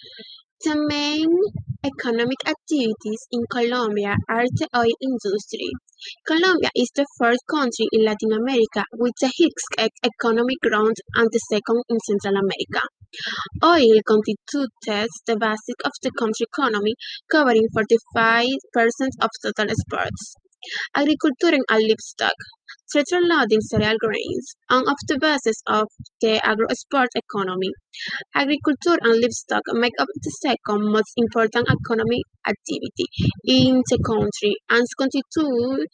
The main economic activities in Colombia are the oil industry. Colombia is the first country in Latin America with the highest economic growth and the second in Central America. Oil constitutes the basis of the country's economy, covering 45% of total exports. Agriculture and livestock. Central loading cereal grains, one of the bases of the agro-export economy. Agriculture and livestock make up the second most important economic activity in the country and constitute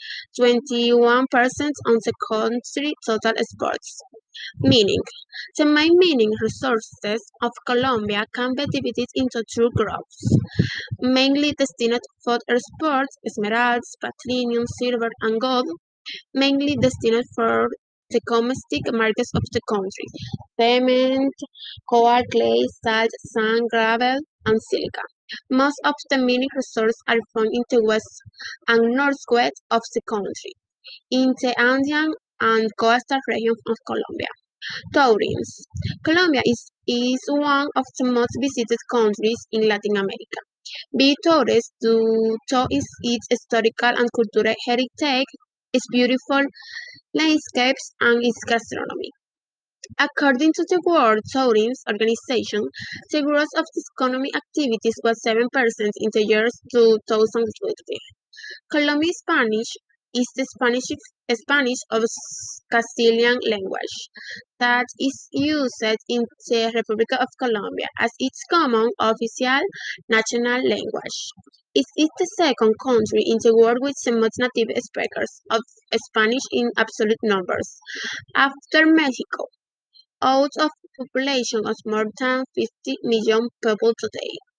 21% of the country's total exports. Meaning, the main mining resources of Colombia can be divided into two groups, mainly destined for exports, esmeraldas, platinum, silver, and gold, mainly destined for the domestic markets of the country, cement, coal, clay, salt, sand, gravel, and silica. Most of the mining resources are found in the west and northwest of the country, in the Andean and coastal regions of Colombia. Tourism. Colombia is one of the most visited countries in Latin America. Visitors due to its historical and cultural heritage, its beautiful landscapes, and its gastronomy. According to the World Tourism Organization, the growth of the economic activities was 7% in the year 2020. Colombian Spanish is the Spanish of Castilian language that is used in the Republic of Colombia as its common official national language. It is the second country in the world with the most native speakers of Spanish in absolute numbers, after Mexico, out of a population of more than 50 million people today.